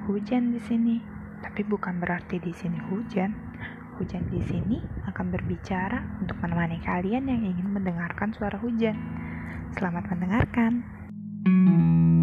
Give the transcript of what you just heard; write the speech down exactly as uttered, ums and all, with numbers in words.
hujan di sini. Tapi bukan berarti di sini hujan. Hujan di sini akan berbicara untuk menemani kalian yang ingin mendengarkan suara hujan. Selamat mendengarkan.